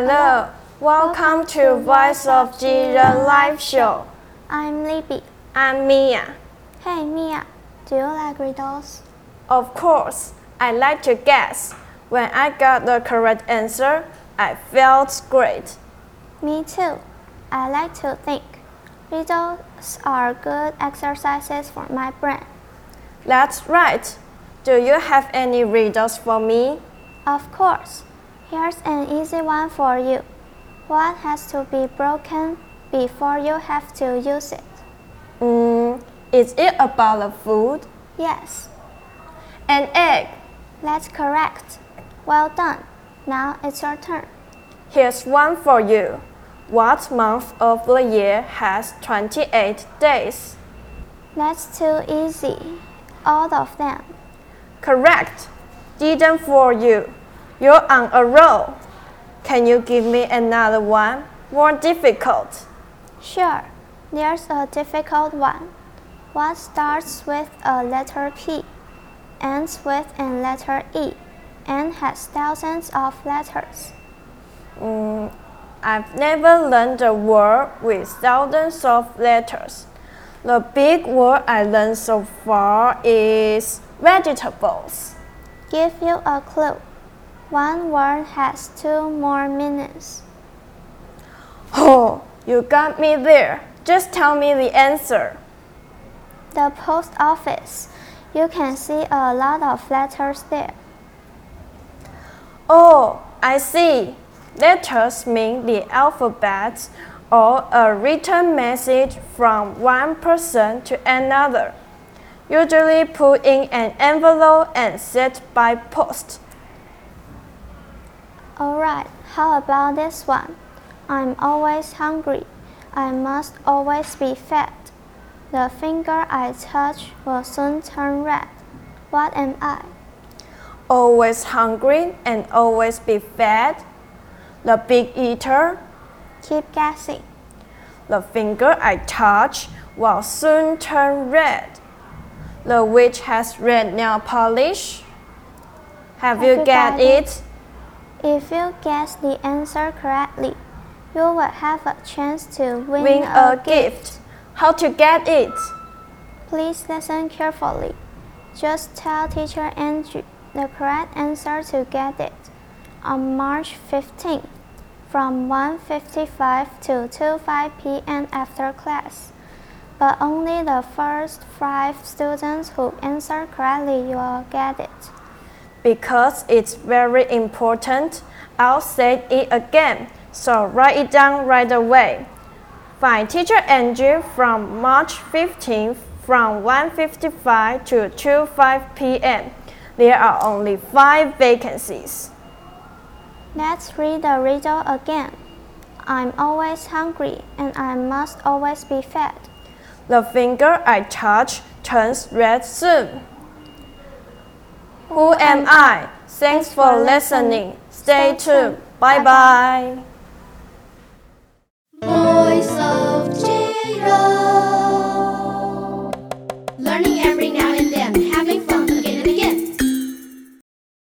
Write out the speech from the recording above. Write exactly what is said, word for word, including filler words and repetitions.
Hello, welcome to Voice of Jiren live show. I'm Libby. I'm Mia. Hey Mia, do you like riddles? Of course, I like to guess. When I got the correct answer, I felt great. Me too. I like to think. Riddles are good exercises for my brain. That's right. Do you have any riddles for me? Of course. Here's an easy one for you. What has to be broken before you have to use it? Mm, is it about the food? Yes. An egg. That's correct. Well done. Now it's your turn. Here's one for you. What month of the year has twenty-eight days? That's too easy. All of them. Correct. Didn't fool you. You're on a roll. Can you give me another one? More difficult. Sure. There's a difficult one. What starts with a letter P, ends with a letter E, and has thousands of letters? Mm, I've never learned a word with thousands of letters. The big word I learned so far is vegetables. Give you a clue. One word has two more meanings. Oh, you got me there. Just tell me the answer. The post office. You can see a lot of letters there. Oh, I see. Letters mean the alphabet or a written message from one person to another, usually put in an envelope and sent by post. Alright, how about this one? I'm always hungry. I must always be fed. The finger I touch will soon turn red. What am I? Always hungry and always be fed. The big eater. Keep guessing. The finger I touch will soon turn red. The witch has red nail polish. Have, Have you, you get it? it? If you guess the answer correctly, you will have a chance to win, win a, a gift. gift. How to get it? Please listen carefully. Just tell Teacher Andrew the correct answer to get it. On March fifteenth, from one fifty-five to two oh five p m after class. But only the first five students who answer correctly will get it. Because it's very important, I'll say it again, so write it down right away. Find Teacher Andrew from March fifteenth from one fifty-five to two oh five p m There are only five vacancies. Let's read the riddle again. I'm always hungry and I must always be fed. The finger I touch turns red soon. Who am I? Thanks for listening. Stay tuned. Bye bye.